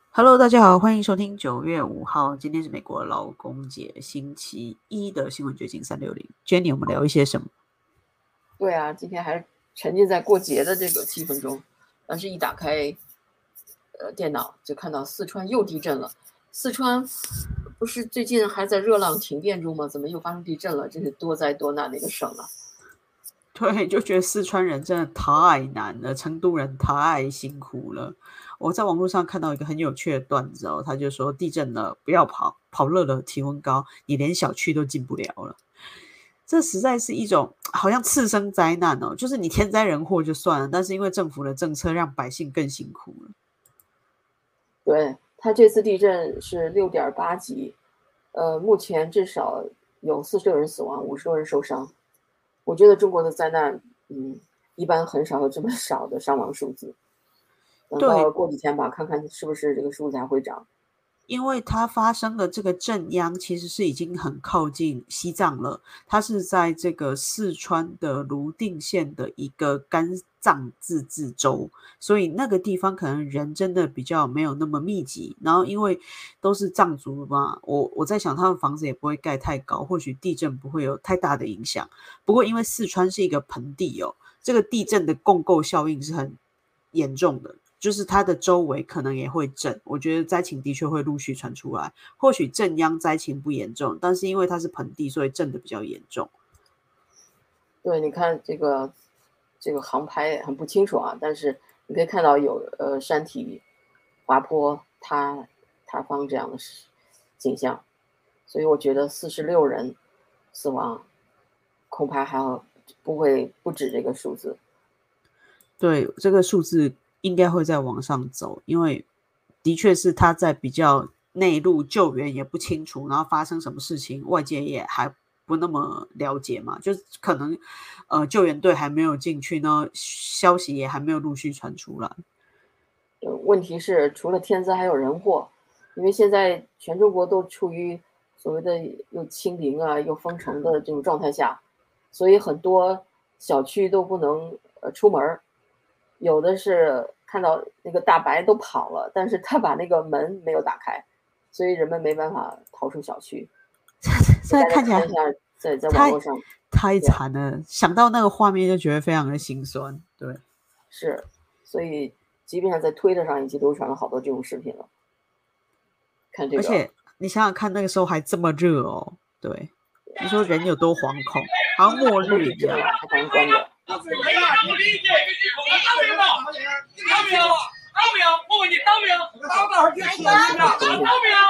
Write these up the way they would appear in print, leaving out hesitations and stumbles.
Hello，大家好，欢迎收听9月5号，今天是美国劳工节星期一的新闻掘金360。Jenny，我们聊一些什么？ 对啊，今天还沉浸在过节的这个气氛中，但是一打开电脑就看到四川又地震了。四川不是最近还在热浪停电中吗？怎么又发生地震了？真是多灾多难的一个省啊！ 对，就觉得四川人真的太难了，成都人太辛苦了。我在网络上看到一个很有趣的段子哦，他就说地震了不要跑，跑热了体温高，你连小区都进不了了。这实在是一种好像次生灾难哦，就是你天灾人祸就算了，但是因为政府的政策让百姓更辛苦了。 对，它这次地震是6.8级，目前至少有46人死亡，50多人受伤。我觉得中国的灾难，一般很少有这么少的伤亡数字。等到过几天吧，看看是不是这个数字还会涨。 因为它发生的这个震央其实是已经很靠近西藏了，它是在这个四川的泸定县的一个甘藏自治州，所以那个地方可能人真的比较没有那么密集。然后因为都是藏族嘛，我在想他们房子也不会盖太高，或许地震不会有太大的影响。不过因为四川是一个盆地哦，这个地震的共构效应是很严重的。就是它的周围可能也会震，我觉得灾情的确会陆续传出来。或许震央灾情不严重，但是因为它是盆地，所以震的比较严重。 对，你看这个航拍很不清楚啊，但是你可以看到有山体滑坡塌方这样的景象，所以我觉得46人死亡，恐怕不止这个数字。 对，这个数字应该会再往上走，因为的确是他在比较内陆救援也不清楚，然后发生什么事情，外界也还不那么了解嘛，就是可能救援队还没有进去呢，消息也还没有陆续传出来。 问题是除了天灾还有人祸，因为现在全中国都处于所谓的又清零啊又封城的这种状态下，所以很多小区都不能出门。有的是看到那个大白都跑了，但是他把那个门没有打开，所以人们没办法逃出小区。 现在看起来在网络上太惨了，想到那个画面就觉得非常的心酸。对， 是，所以即便在推特上已经流传了好多这种视频了。看这个， 而且你想想看，那个时候还这么热哦。对，你说人有多惶恐，好像末日一样。 还把人关着。 不理解，跟你说，当没有？当没有？当没有？我问你当没有？当多少天？当没有？当没有？当没有？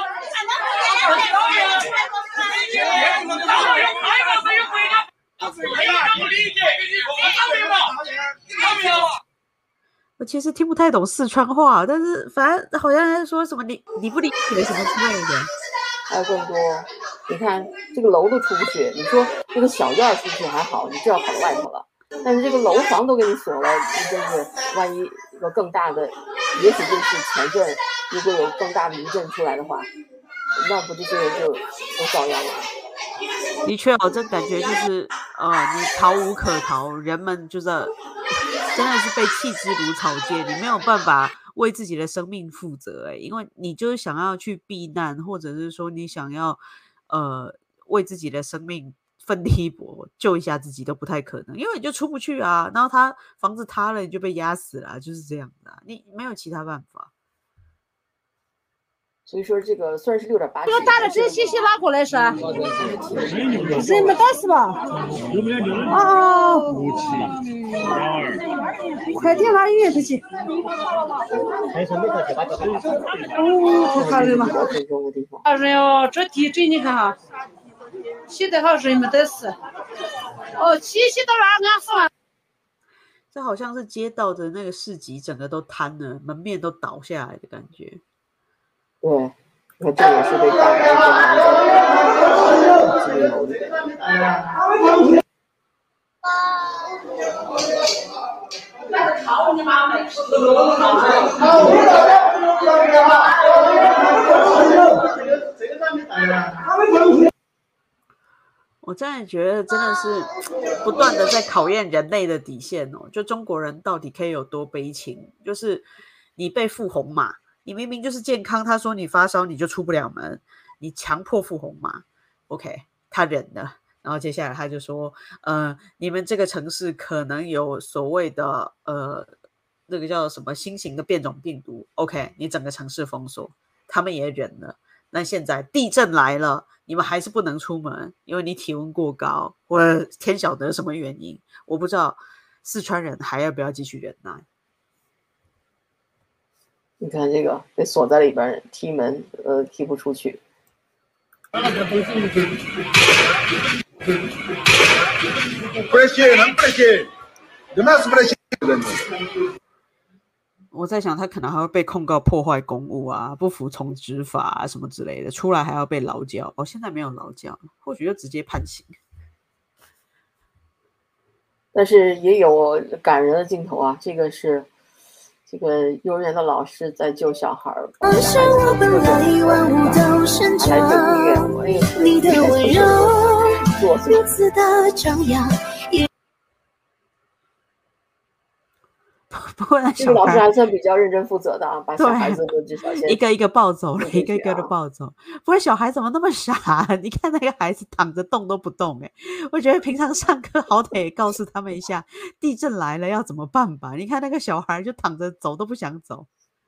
还有回答？不理解，跟你说，当没有？当没有？ 我其实听不太懂四川话，但是反正好像在说什么你不理解什么之类的。 还有更多，你看这个楼都出不去，你说这个小院出去还好，你就要跑到外头了。但是这个楼房都给你锁了，你真是万一有更大的，也许就是前阵，如果有更大的余震出来的话，那不这些人就都遭殃了。 的确哦，这感觉就是你逃无可逃，人们就是真的是被弃之如草芥，你没有办法为自己的生命负责因为你就是想要去避难，或者是说你想要为自己的生命奋力一搏，救一下自己都不太可能，因为你就出不去啊，然后他房子塌了，你就被压死了，就是这样的你没有其他办法。 所以说这个虽然是6.8级， 我打的这信息哪过来是？人没打死吧？哦，快点拿医院去。哦，好人嘛。好人哦，这地震你看哈，起得好人没得死。哦，起到哪安抚？ 这好像是街道的那个市集，整个都瘫了，门面都倒下来的感觉。 对，你看这也是被大白给拦在楼里。 我真的觉得真的是不断的在考验人类的底线哦。就中国人到底可以有多悲情？就是你被付红马， 你明明就是健康，他说你发烧你就出不了门，你强迫付红码 ，OK， 他忍了。然后接下来他就说，你们这个城市可能有所谓的那个叫什么新型的变种病毒 ，OK， 你整个城市封锁，他们也忍了。那现在地震来了，你们还是不能出门，因为你体温过高，或者天晓得什么原因，我不知道四川人还要不要继续忍耐。 你看这个被锁在里边，踢门踢不出去。 我在想他可能还会被控告破坏公务啊，不服从执法啊什么之类的，出来还要被劳教。现在没有劳教，或许就直接判刑。 但是也有感人的镜头啊，这个是这个幼儿园的老师在救小孩，把孩子拿来救医院，你的温柔如此的张扬。 不过那这个老师还算比较认真负责的啊，把小孩子都至少先一个一个抱走了，一个一个的抱走。不过小孩怎么那么傻？你看那个孩子躺着动都不动，我觉得平常上课好歹也告诉他们一下，地震来了要怎么办吧。你看那个小孩就躺着走都不想走。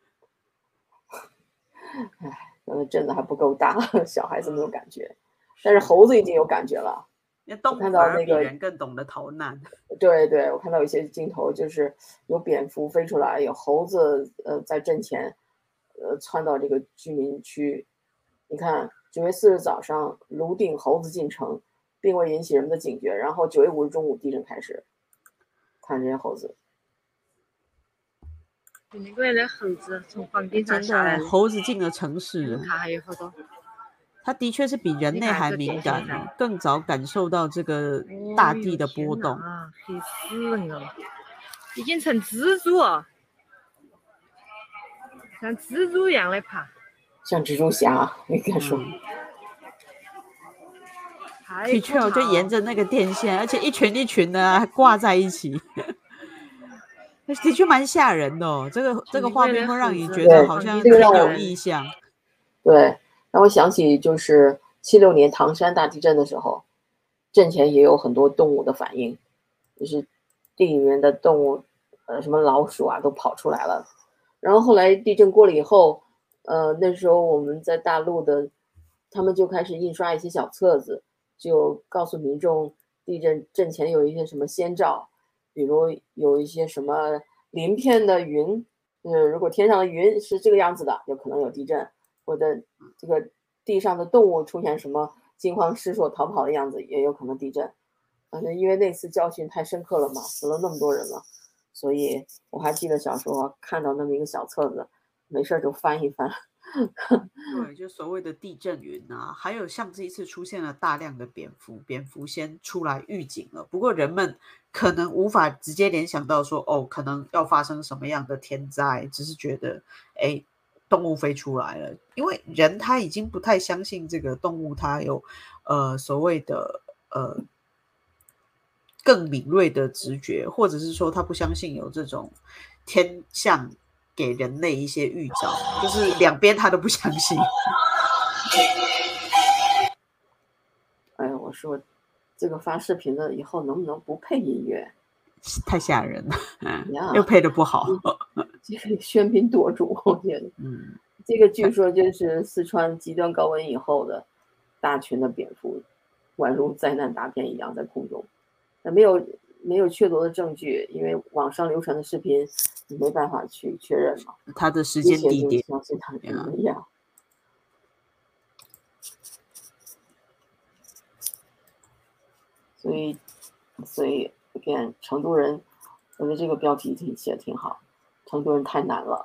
震的还不够大，小孩子没有感觉，但是猴子已经有感觉了。 动物反而比人更懂得逃难。 对对，我看到有些镜头就是有蝙蝠飞出来，有猴子在震前窜到这个居民区。你看9月4日早上泸定猴子进城，并未引起人们的警觉，然后9月5日中午地震开始。看这些猴子， 那个的猴子从房顶上下来， 猴子进了城市， 它还有好多。 它的确是比人类还敏感，更早感受到这个大地的波动。 黑死人了，已经成蜘蛛了，像蜘蛛一样的爬， 像蜘蛛侠，应该说。 的确，我就沿着那个电线，而且一群一群的还挂在一起，的确蛮吓人的哦。这个画面会让你觉得好像挺有意象。 对。让我想起就是76年唐山大地震的时候，震前也有很多动物的反应，就是地里面的动物，什么老鼠啊都跑出来了。然后后来地震过了以后，那时候我们在大陆的，他们就开始印刷一些小册子，就告诉民众地震前有一些什么先兆，比如有一些什么鳞片的云，如果天上的云是这个样子的，就可能有地震。或者这个地上的动物出现什么惊慌失措逃跑的样子，也有可能地震。因为那次教训太深刻了嘛，死了那么多人了，所以我还记得小时候看到那么一个小册子，没事就翻一翻。 对，就所谓的地震云啊，还有像这一次出现了大量的蝙蝠先出来预警了。不过人们可能无法直接联想到说，可能要发生什么样的天灾，只是觉得，动物飞出来了，因为人他已经不太相信这个动物它有所谓的更敏锐的直觉，或者是说他不相信有这种天象给人类一些预兆，就是两边他都不相信。 我说这个发视频的以后能不能不配音乐？ 太吓人了，又配的不好。 这个喧宾夺主，我觉得。这个据说就是四川极端高温以后的大群的蝙蝠，宛如灾难大片一样在空中。没有确凿的证据，因为网上流传的视频你没办法去确认嘛。 它的时间地点相信它怎么样。所以看成都人，我觉得这个标题写的挺好。成都人太难了，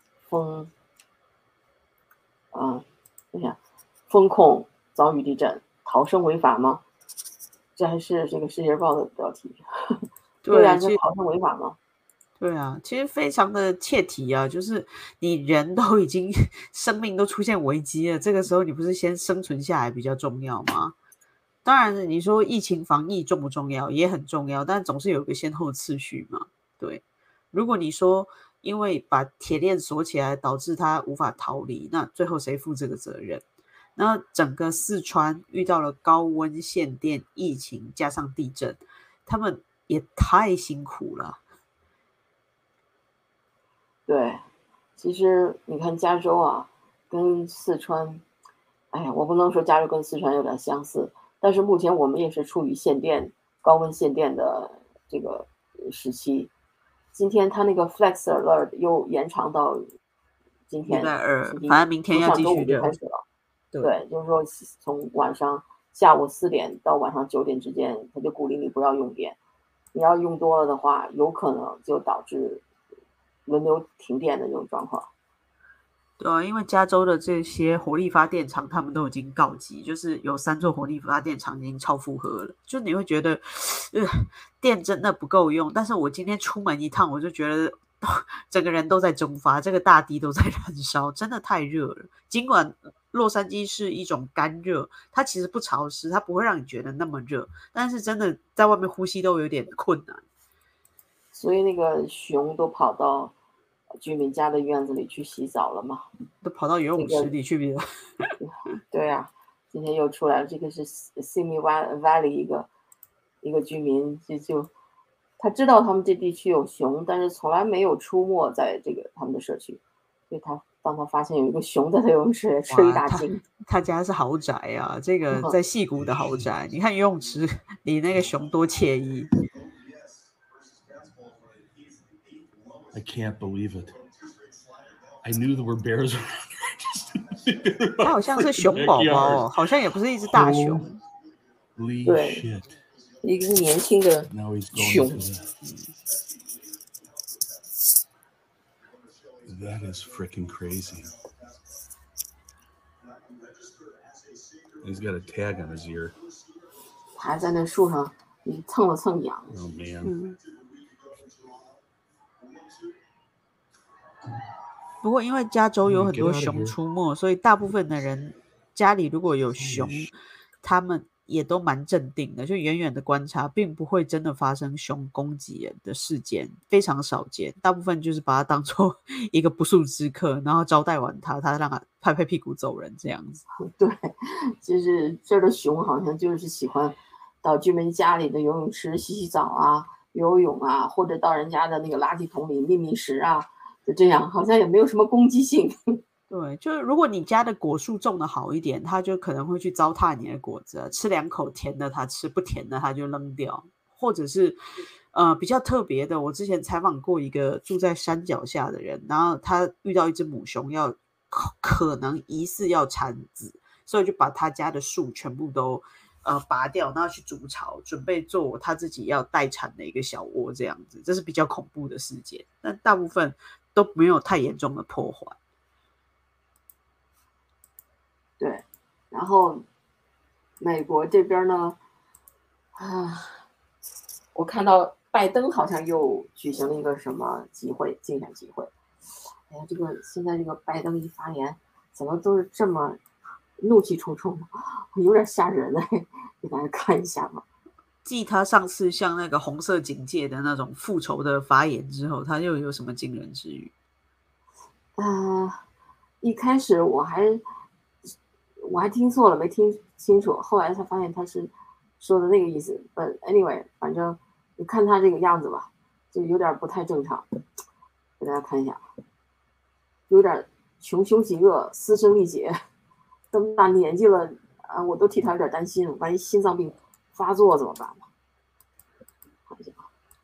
风控遭遇地震，逃生违法吗？这还是这个《世界日报》的标题。对啊，这逃生违法吗？ 对啊，其实非常的切题啊，就是你人都已经生命都出现危机了，这个时候你不是先生存下来比较重要吗？当然你说疫情防疫重不重要，也很重要，但总是有一个先后次序嘛。对，如果你说因为把铁链锁起来，导致他无法逃离，那最后谁负这个责任？那整个四川遇到了高温、限电、疫情，加上地震，他们也太辛苦了。 对，其实你看加州啊，跟四川，哎呀，我不能说加州跟四川有点相似，但是目前我们也是处于限电、高温限电的这个时期。今天他那个 Flex Alert 又延长到今天礼拜2，反正明天要继续热。 开始了。对，就是说从下午4点到晚上9点之间，他就鼓励你不要用电。你要用多了的话，有可能就导致轮流停电的这种状况。 对啊，因为加州的这些火力发电厂，他们都已经告急，就是有3座火力发电厂已经超负荷了，就你会觉得，电真的不够用。但是我今天出门一趟，我就觉得整个人都在蒸发，这个大地都在燃烧，真的太热了。尽管洛杉矶是一种干热，它其实不潮湿，它不会让你觉得那么热，但是真的在外面呼吸都有点困难。 所以那个熊都跑到居民家的院子里去洗澡了嘛， 都跑到游泳池里去了。 对啊，今天又出来了，这个是 Simi Valley 一个居民，就他知道他们这地区有熊，但是从来没有出没在这个他们的社区，所以当他发现有一个熊在他游泳池，吃一大惊。 他家是豪宅啊，这个在矽谷的豪宅，你看游泳池里那个熊多惬意。 I can't believe it. I knew there were bears around. 它好像是熊宝宝哦，好像也不是一只大熊。 对，一个年轻的熊。 That is freaking crazy. He's got a tag on his ear. 他还在那树上蹭了蹭痒。 Oh man. 不过因为加州有很多熊出没，所以大部分的人家里如果有熊，他们也都蛮镇定的，就远远的观察，并不会真的发生熊攻击人的事件，非常少见。大部分就是把它当作一个不速之客，然后招待完他让他拍拍屁股走人这样子。 对，就是这儿的熊好像就是喜欢到居民家里的游泳池洗澡啊、游泳啊，或者到人家的那个垃圾桶里觅食啊。就这样，好像也没有什么攻击性。 对，就是如果你家的果树种的好一点，它就可能会去糟蹋你的果子，吃2口甜的它吃，不甜的它就扔掉。或者是比较特别的，我之前采访过一个住在山脚下的人，然后他遇到一只母熊可能疑似要产子，所以就把他家的树全部都拔掉，然后去筑巢，准备做他自己要待产的一个小窝这样子。这是比较恐怖的事件，但大部分都没有太严重的破坏。 对，然后美国这边呢，我看到拜登好像又举行了一个什么竞选集会。哎呀，现在这个拜登一发言，怎么都是这么怒气冲冲的，有点吓人哎，给大家看一下吧。 继他上次像那个红色警戒的那种复仇的发言之后，他又有什么惊人之语？ 一开始我还听错了，没听清楚，后来才发现他是说的那个意思。But anyway， 反正你看他这个样子吧，就有点不太正常。给大家看一下，有点穷凶极恶、嘶声力竭，这么大年纪了啊，我都替他有点担心，万一心脏病发作怎么办呢？看一下。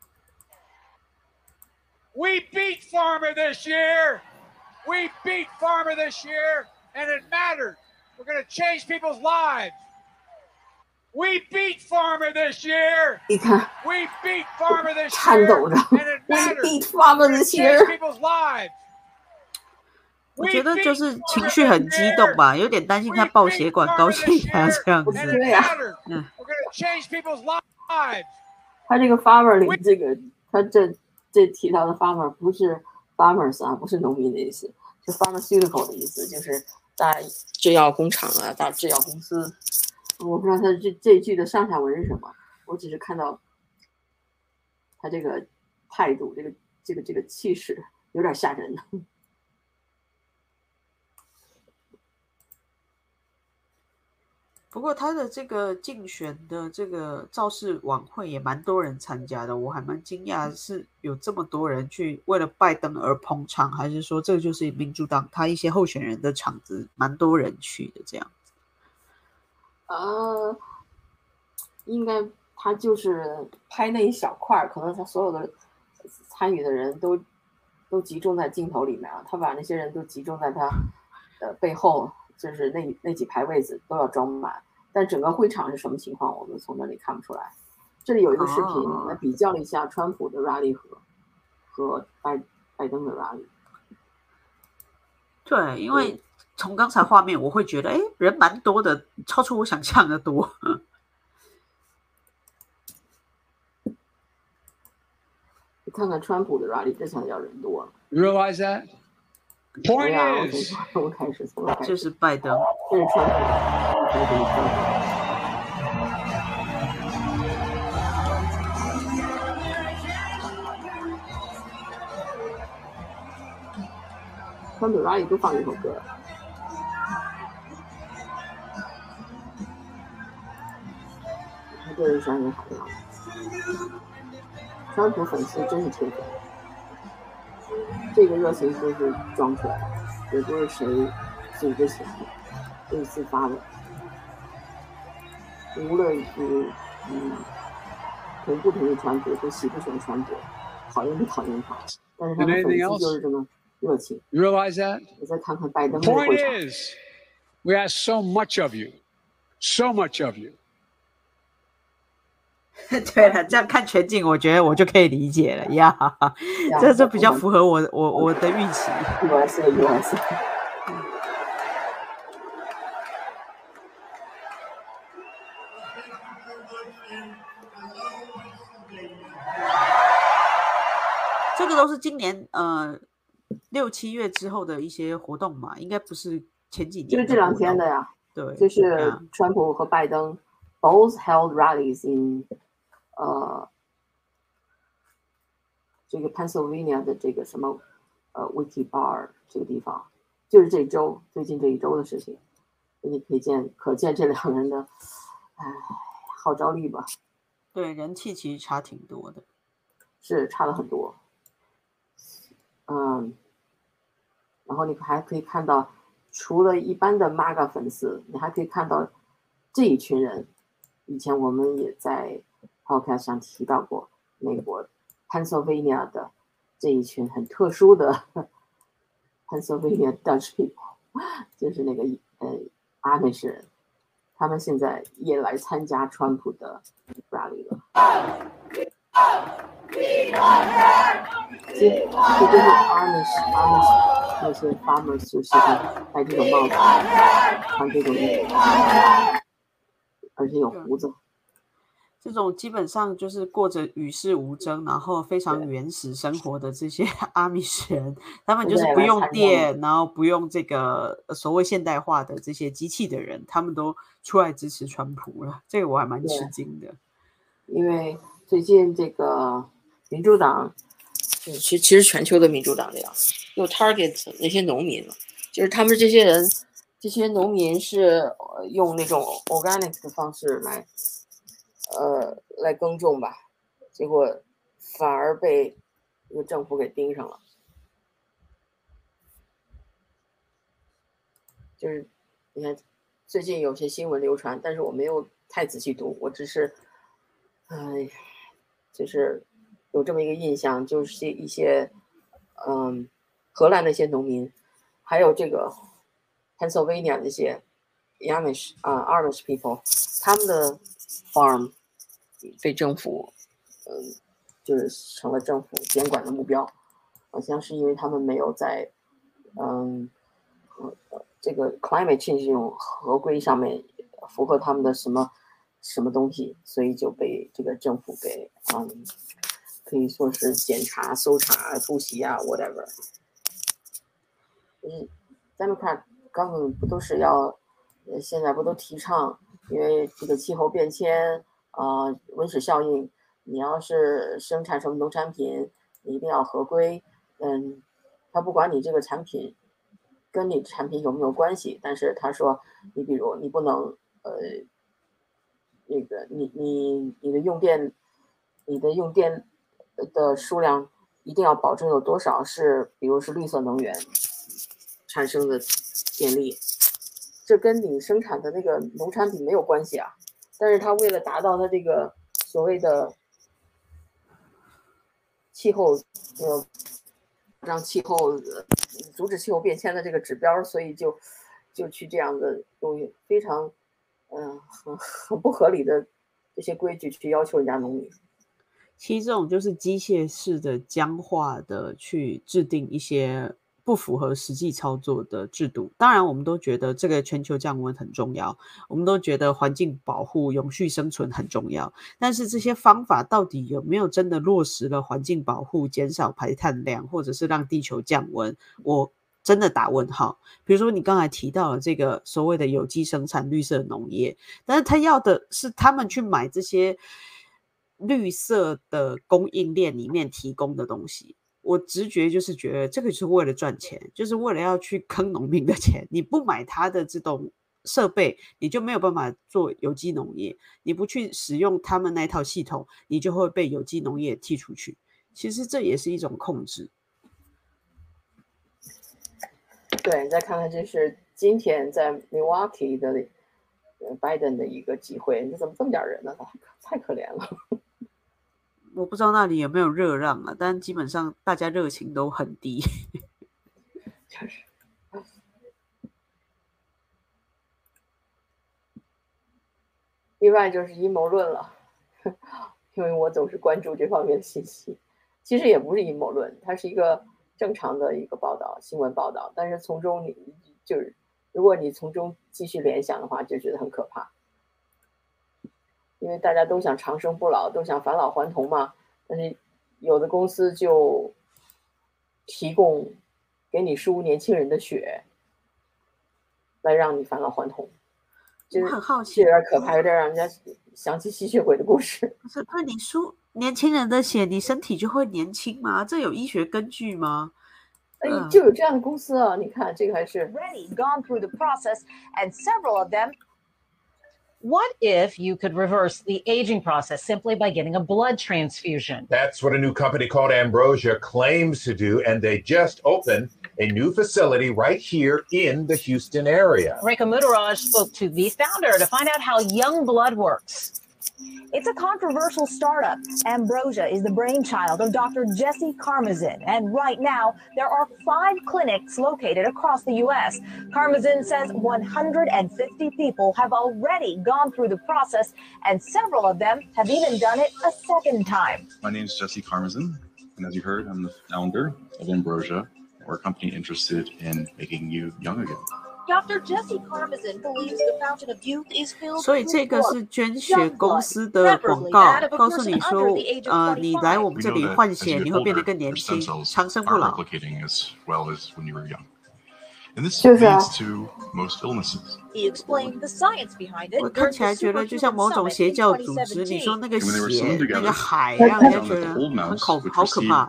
We beat Farmer this year. We beat Farmer this year, and it mattered. We're going to change people's lives. We beat Farmer this year. 你看 We beat Farmer this 颤抖 year, 着 and it We mattered. beat Farmer We're going to this change year. people's lives. 我觉得就是情绪很激动吧，有点担心他爆血管、高血压这样子。 对呀，他这个 farmer 里这个，他这提到的 farmer 不是 farmers 啊，不是农民的意思，是 pharmaceutical 的意思，就是在制药工厂啊，大制药公司。我不知道他这句的上下文是什么，我只是看到他这个态度，这个气势， 有点吓人。 不过他的这个竞选的这个造势晚会也蛮多人参加的，我还蛮惊讶是有这么多人去为了拜登而捧场，还是说这就是民主党他一些候选人的场子蛮多人去的这样子？ 应该他就是拍那一小块，可能他所有的参与的人都集中在镜头里面啊，他把那些人都集中在他的背后。就是那几排位子都要装满，但整个会场是什么情况，我们从那里看不出来。这里有一个视频来比较了一下川普的 rally 和拜登的 rally。 对，因为从刚才画面我会觉得，人蛮多的，超出我想象的多。 你看看川普的 rally， 这才叫人多。 Realize that? Point is， 从开始， 这是拜登， 这是川普，川普 rally 都放这首歌。他这人山人海的样子，川普粉丝真是铁粉。这个热情都是装出来的，也不是谁组织起来的，都是自发的。无论你同不同意川普，都喜不喜欢川普，讨厌不讨厌他，但是他的粉丝就是这么热情。 You realize that? 你再看看拜登的会场。 Point is, we have so much of you, so much of you. 对了，这样看全景，我觉得我就可以理解了呀。这比较符合我的预期。 USA。 这个都是今年6、7月之后的一些活动嘛，应该不是前几年。 就是这2天的呀。 对， 就是川普和拜登 both held rallies in。这个 Pennsylvania 的这个什么Wiki Bar 这个地方，就是最近这一周的事情，你可见这2人的号召力吧。 对，人气其实差挺多的， 是差了很多。然后你还可以看到，除了一般的 MAGA 粉丝，你还可以看到这一群人。以前我们也在 podcast 上提到过，美国 Pennsylvania 的这一群很特殊的Pennsylvania Dutch people， 就是那个阿美士人，他们现在也来参加川普的 rally 了。这就是 Amish 那些 farmers 就喜欢戴这种帽子，穿这种衣服，而且有胡子。 这种基本上就是过着与世无争，然后非常原始生活的这些阿米什人，他们就是不用电，然后不用这个所谓现代化的这些机器的人，他们都出来支持川普了。这个我还蛮吃惊的。 因为最近这个民主党，其实全球的民主党这样，又 target 那些农民了，就是他们这些农民是用那种 organic 的方式来耕种吧，结果反而被这个政府给盯上了。就是你看最近有些新闻流传，但是我没有太仔细读，我只是就是有这么一个印象，就是一些荷兰的一些农民，还有这个 Pennsylvania 的一些 Amish people， 他们的 farm 被政府就是成了政府监管的目标，好像是因为他们没有在这个 climate change 这种合规上面符合他们的什么东西，所以就被这个政府给可以说是检查、搜查、突袭啊 whatever。Democrat government 不都是要现在不都提倡，因为这个气候变迁温室效应，你要是生产什么农产品，你一定要合规， 他不管你这个产品跟你产品有没有关系，但是他说你比如你不能那个你的用电的数量一定要保证有多少是比如是绿色能源产生的电力，这跟你生产的那个农产品没有关系啊。但是他为了达到他这个所谓的气候让气候阻止气候变迁的这个指标，所以就去这样的用非常很不合理的这些规矩去要求人家农民。 其实这种就是机械式的僵化的去制定一些不符合实际操作的制度。当然我们都觉得这个全球降温很重要，我们都觉得环境保护永续生存很重要，但是这些方法到底有没有真的落实了环境保护，减少排碳量，或者是让地球降温，我真的打问号。比如说你刚才提到了这个所谓的有机生产绿色农业，但是他要的是他们去买这些绿色的供应链里面提供的东西，我直觉就是觉得这个就是为了赚钱，就是为了要去坑农民的钱。你不买他的这种设备，你就没有办法做有机农业，你不去使用他们那套系统，你就会被有机农业踢出去。其实这也是一种控制。 对，再看看这是今天在 Milwaukee 的Biden 的一个集会，你怎么这么点人呢？太可怜了。 我不知道那里有没有热浪啊，但基本上大家热情都很低。 就是，另外就是阴谋论了，因为我总是关注这方面的信息。其实也不是阴谋论，它是一个正常的一个报道，新闻报道。但是从中如果你从中继续联想的话，就觉得很可怕。因为大家都想长生不老，都想返老还童嘛，但是有的公司就提供给你输年轻人的血，来让你返老还童。 我很好奇， 有点可怕，有点让人家想起吸血鬼的故事。 不是，对你输年轻人的血，你身体就会年轻吗？这有医学根据吗？ 就有这样的公司啊！你看这个还是 already gone through the process, and several of them. What if you could reverse the aging process simply by getting a blood transfusion? That's what a new company called Ambrosia claims to do, and they just opened a new facility right here in the Houston area. Rekha Mudaraj spoke to the founder to find out how young blood works. It's a controversial startup. Ambrosia is the brainchild of Dr. Jesse Karmazin, and right now there are 5 clinics located across the U.S. Karmazin says 150 people have already gone through the process, and several of them have even done it a second time. My name is Jesse Karmazin, and as you heard, I'm the founder of Ambrosia. We're a company interested in making you young again. Dr. Jesse Karmazin believes the fountain of youth is filled 所以这个是捐血公司的广告，告诉你说，你来我们这里换血，你会变得更年轻，长生不老。 就是啊。 He explained the science behind it. 我看起来觉得就像某种邪教组织，你说那个血、那个海，让人家觉得好可怕。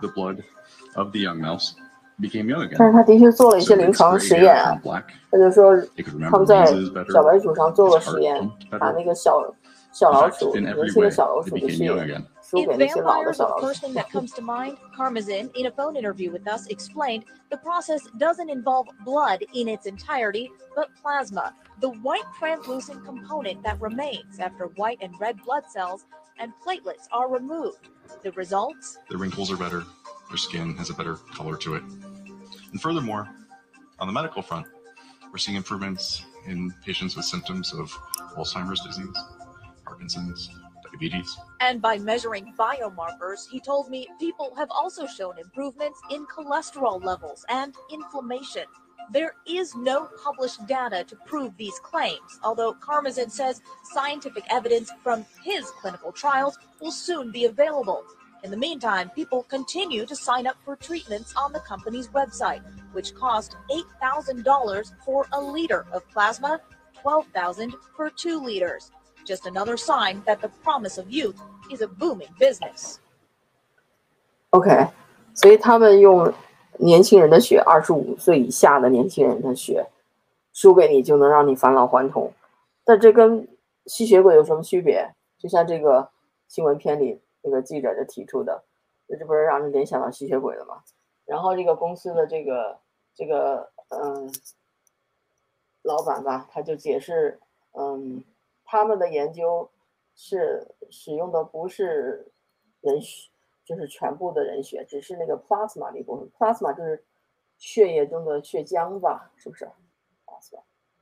但是他的确做了一些临床实验啊，他就说他们在小白鼠上做了实验，把那个小老鼠，年轻的小老鼠的血输给那些老的小老鼠。 If vampires are the first thing that comes to mind, Karmazin, in a phone interview with us, explained the process doesn't involve blood in its entirety, but plasma, the white translucent component that remains after white and red blood cells and platelets are removed. The results? The wrinkles are better. Their skin has a better color to it. And furthermore, on the medical front, we're seeing improvements in patients with symptoms of Alzheimer's disease, Parkinson's, diabetes. And by measuring biomarkers, he told me people have also shown improvements in cholesterol levels and inflammation. There is no published data to prove these claims, although Karmazin says scientific evidence from his clinical trials will soon be available. In the meantime, people continue to sign up for treatments on the company's website, which cost $8,000 for a liter of plasma, $12,000 for 2 liters. Just another sign that the promise of youth is a booming business. OK， 所以他们用年轻人的血，25岁以下的年轻人的血输给你就能让你返老还童，但这跟吸血鬼有什么区别？就像这个新闻片里那个记者就提出的，这不是让人联想到吸血鬼了吗？然后这个公司的这个老板吧，他就解释，他们的研究是使用的不是人血，就是全部的人血，只是那个 plasma 的一部分。plasma 就是血液中的血浆吧，是不是 ？plasma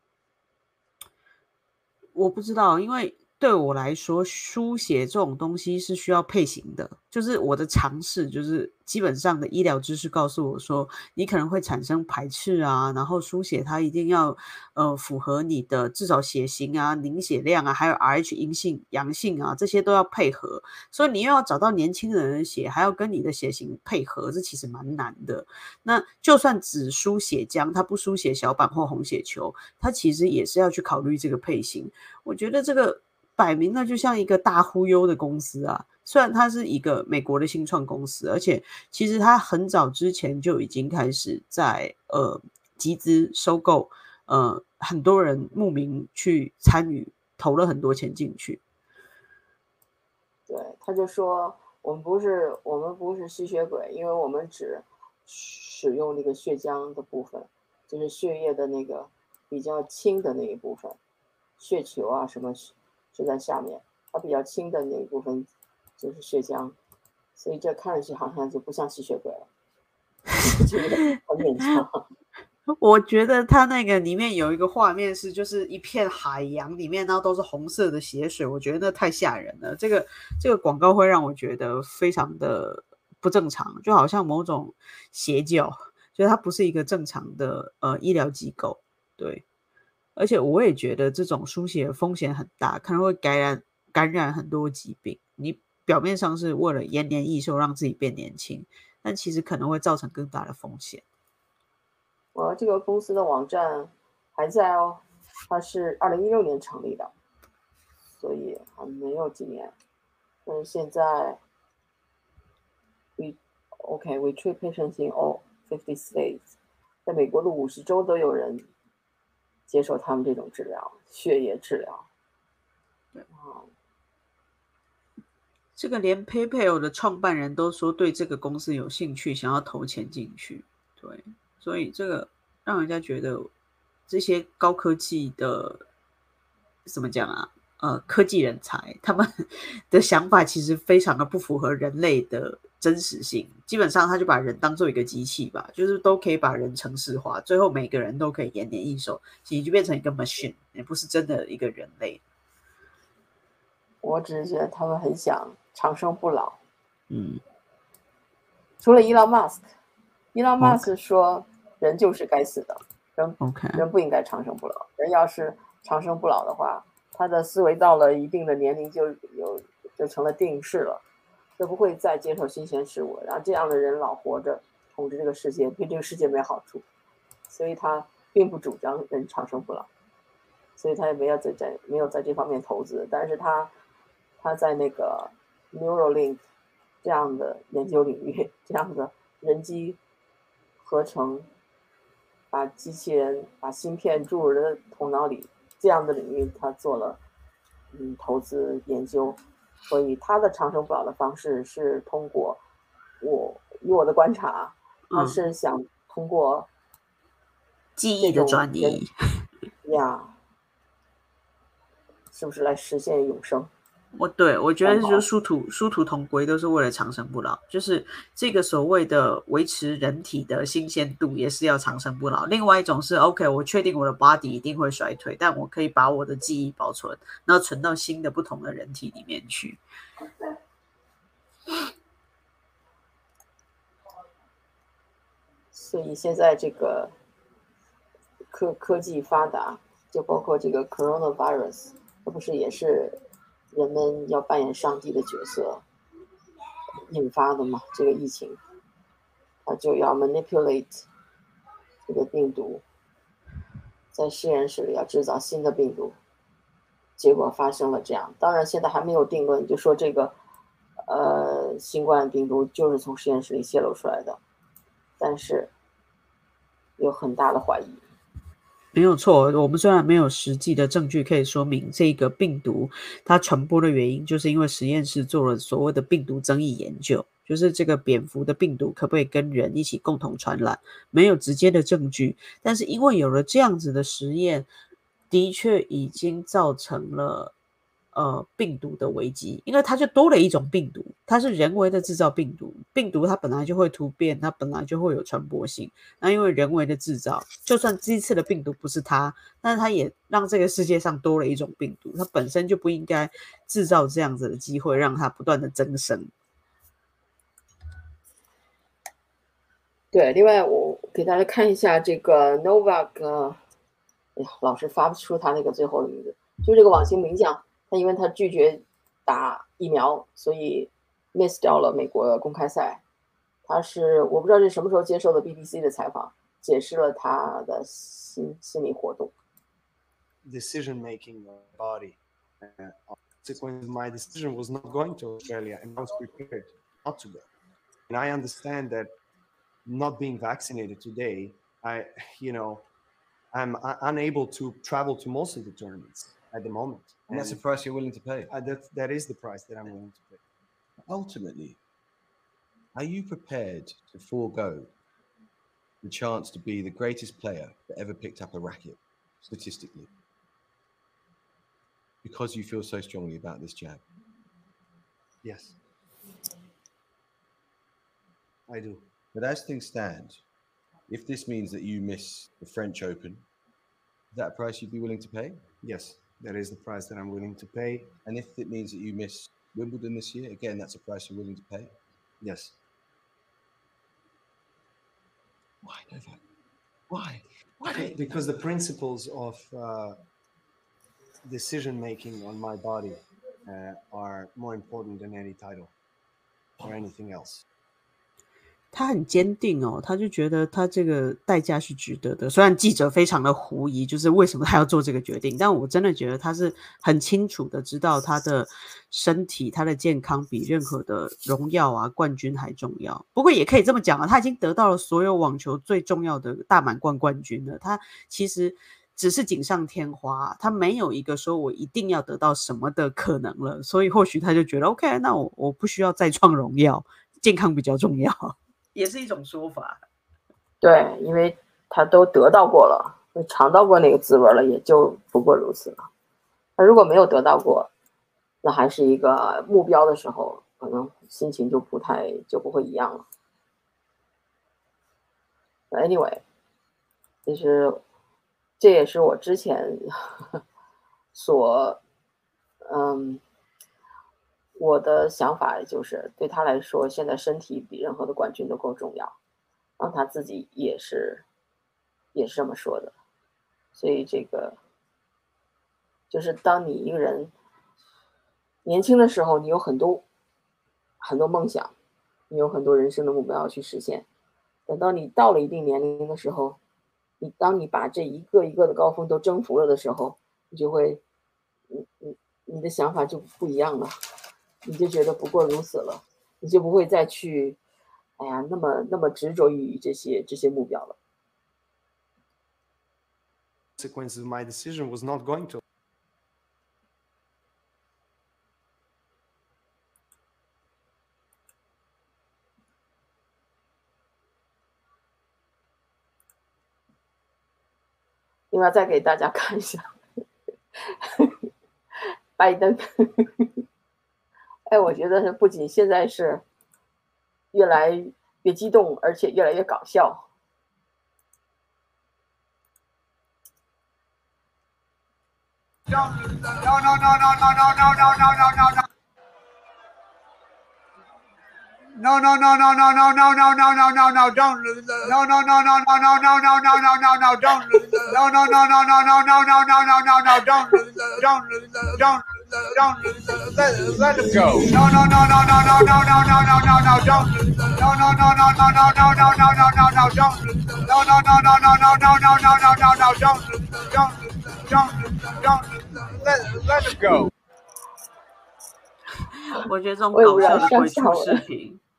我不知道，因为对我来说，输血这种东西是需要配型的。就是我的尝试，就是基本上的医疗知识告诉我说，你可能会产生排斥啊，然后输血它一定要符合你的至少血型啊、凝血量啊，还有 Rh 阴性、阳性啊，这些都要配合。所以你又要找到年轻人的血，还要跟你的血型配合，这其实蛮难的。那就算只输血浆，它不输血小板或红血球，它其实也是要去考虑这个配型。我觉得这个摆明了就像一个大忽悠的公司啊，虽然它是一个美国的新创公司，而且其实它很早之前就已经开始在集资收购，很多人慕名去参与，投了很多钱进去。 对，他就说我们不是吸血鬼，因为我们只使用那个血浆的部分，就是血液的那个比较轻的那一部分，血球啊什么是在下面，它比较轻的那一部分就是血浆，所以这看上去好像就不像吸血鬼了，就觉得很勉强。 我觉得它那个里面有一个画面是，就是一片海洋里面，然后都是红色的血水，我觉得那太吓人了。这个广告会让我觉得非常的不正常，就好像某种邪教，就是它不是一个正常的医疗机构。对，而且我也觉得这种输血风险很大，可能会感染很多疾病。你表面上是为了延年益寿，让自己变年轻，但其实可能会造成更大的风险。 我这个公司的网站还在哦，它是2016年成立的，所以还没有几年。但是现在 we treat patients in all 50 states， 在美国的50州都有人接受他们这种治疗，血液治疗。 这个连 PayPal 的创办人都说对这个公司有兴趣，想要投钱进去。对，所以这个让人家觉得这些高科技的怎么讲啊？科技人才他们的想法其实非常的不符合人类的真实性。基本上他就把人当做一个机器吧，就是都可以把人程式化，最后每个人都可以延年益寿，其实就变成一个 machine， 也不是真的一个人类。 我只是觉得他们很想长生不老。除了伊隆马斯克说人就是该死的，人不应该长生不老。人要是长生不老的话，他的思维到了一定的年龄就成了定式了，就不会再接受新鲜事物。然后这样的人老活着统治这个世界，对这个世界没好处，所以他并不主张人长生不老，所以他也没有在这方面投资。但是他在那个 Neuralink 这样的研究领域，这样的人机合成，把机器人把芯片注入人的头脑里，这样的领域他做了投资研究。所以他的长生不老的方式是通过以我的观察，他是想通过记忆的转移呀，是不是来实现永生？ 我觉得就是殊途同归，都是为了长生不老。就是这个所谓的维持人体的新鲜度，也是要长生不老。另外一种是 OK， 我确定我的 body 一定会衰退，但我可以把我的记忆保存，然后存到新的不同的人体里面去。 所以现在这个科技发达，就包括这个 coronavirus， 这不是也是人们要扮演上帝的角色引发的嘛？这个疫情，他就要 manipulate 这个病毒，在实验室里要制造新的病毒，结果发生了这样。当然现在还没有定论，就说这个新冠病毒就是从实验室里泄露出来的， 但是有很大的怀疑。 没有错，我们虽然没有实际的证据可以说明这个病毒它传播的原因，就是因为实验室做了所谓的病毒争议研究，就是这个蝙蝠的病毒可不可以跟人一起共同传染，没有直接的证据。但是因为有了这样子的实验，的确已经造成了病毒的危机，因为它就多了一种病毒，它是人为的制造病毒，病毒它本来就会突变，它本来就会有传播性，那因为人为的制造，就算这一次的病毒不是它，但是它也让这个世界上多了一种病毒，它本身就不应该制造这样子的机会，让它不断的增生。 对，另外我给大家看一下这个 Novak，老是发不出他那个最后的名字，就这个网球名将，他因为他拒绝打疫苗，所以 miss 掉了美国公开赛。他是我不知道是什么时候接受的 BBC 的采访，解释了他的心理活动。 Decision making of the body. Consequence, my decision was not going to Australia, and I was prepared not to go. And I understand that not being vaccinated today, I'm unable to travel to most of the tournaments at the moment. And that's the price you're willing to pay. That is the price that I'm willing to pay. Ultimately, are you prepared to forego the chance to be the greatest player that ever picked up a racket, statistically, because you feel so strongly about this jab? Yes, I do. But as things stand, if this means that you miss the French Open, is that a price you'd be willing to pay? Yes, that is the price that I'm willing to pay. And if it means that you miss Wimbledon this year, again, that's a price you're willing to pay? Yes. Why, Novak? Why? Because the principles of decision-making on my body are more important than any title or anything else. 他很坚定哦，他就觉得他这个代价是值得的。虽然记者非常的狐疑，就是为什么他要做这个决定，但我真的觉得他是很清楚的知道他的身体、他的健康比任何的荣耀啊、冠军还重要。不过也可以这么讲啊，他已经得到了所有网球最重要的大满贯冠军了。他其实只是锦上添花，他没有一个说我一定要得到什么的可能了。所以或许他就觉得 OK， 那我不需要再创荣耀，健康比较重要。也是一种说法。 对，因为他都得到过了，尝到过那个滋味了，也就不过如此了。他如果没有得到过，那还是一个目标的时候，可能心情就不会一样了。Anyway， 这也是我之前我的想法就是对他来说，现在身体比任何的冠军都更重要，让他自己也是这么说的。所以这个就是当你一个人年轻的时候，你有很多梦想，你有很多人生的目标要去实现。等到你到了一定年龄的时候，当你把这一个一个的高峰都征服了的时候，你就会你的想法就不一样了。你就觉得不过如此了，你就不会再去，那么执着于这些目标了。 Consequences of my decision was not going to. "另外再给大家看一下拜登。我觉得不仅现在是越来越激动，而且越来越搞笑。 No, no, no, no, no, no, no, no, no, no, no, no, don't lose. No, no, no, no, no, no, no, no, no, no, no, no, don't lose. No, no, no, no, no, no, no, no, no, no, no, no, don't lose. Don't lose. Don't lose. Let him go. No, no, no, no, no, no, no, no, no, no, no, no, don't lose. No, no, no, no, no, no, no, no, no, no, no, no, don't lose. No, no, no, no, no, no, no, no, no, no, no, no, don't lose. Don't lose. Don't lose. Don't lose. Let him go. 我觉得这种搞笑的鬼畜视频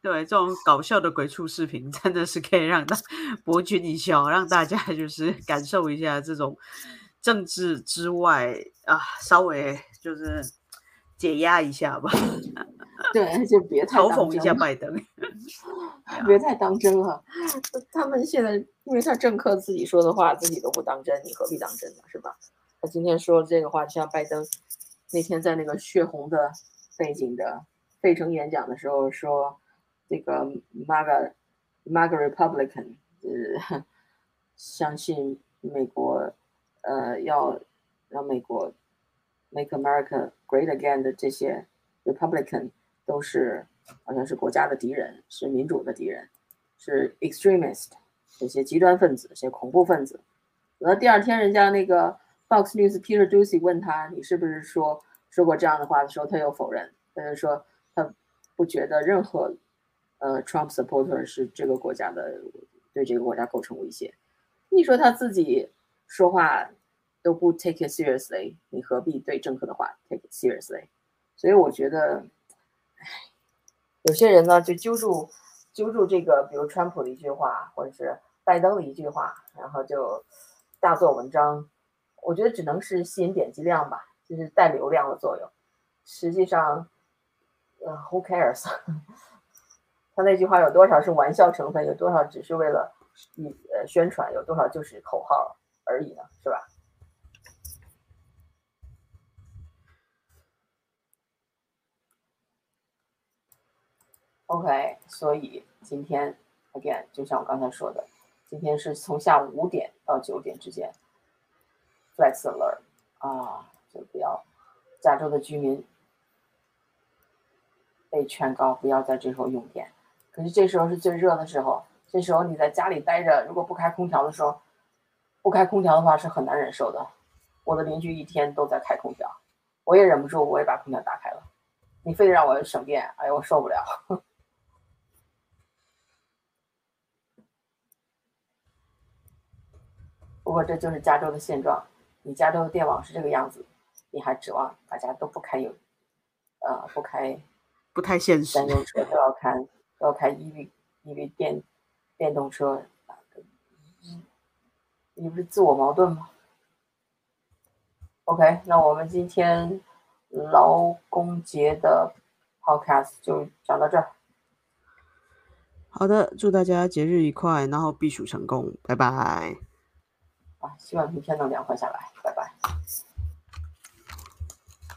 对，这种搞笑的鬼畜视频真的是可以让博君一笑，让大家就是感受一下这种政治之外啊，稍微就是解压一下吧。 对，就别太嘲讽一下拜登， 别太当真了。他们现在因为他政客自己说的话，自己都不当真，你何必当真呢？是吧？他今天说这个话，就像拜登那天在那个血红的背景的费城演讲的时候说，这个 MAGA Republican 相信美国要让美国 Make America Great Again 的这些 Republican 都是好像是国家的敌人，是民主的敌人，是 extremist 这些极端分子，这些恐怖分子。然后第二天人家那个 Fox News Peter Doocy 问他你是不是说过这样的话的时候，他又否认，他就说他不觉得任何Trump supporter 是这个国家的对这个国家构成威胁。你说他自己说话都不 take it seriously， 你何必对政客的话 take it seriously？ 所以我觉得，有些人呢就揪住这个，比如川普的一句话，或者是拜登的一句话，然后就大做文章。我觉得只能是吸引点击量吧，就是带流量的作用。实际上，who cares？ 他那句话有多少是玩笑成分，有多少只是为了宣传，有多少就是口号而已呢，是吧？OK， 所以今天 again 就像我刚才说的，今天是从下午5点到9点之间 ，flex alert 啊，就不要加州的居民被劝告不要在这时候用电。可是这时候是最热的时候，这时候你在家里待着，如果不开空调的时候，不开空调的话是很难忍受的。我的邻居一天都在开空调，我也忍不住，我也把空调打开了。你非得让我省电，哎呦，我受不了。不过这就是加州的现状，你加州的电网是这个样子，你还指望大家都不开不太现实。 燃油车都要开 EV 电动车，你不是自我矛盾吗 ？OK， 那我们今天劳工节的 podcast 就讲到这儿。 好的，祝大家节日愉快，然后避暑成功，拜拜。 希望明天能凉快下来，拜拜。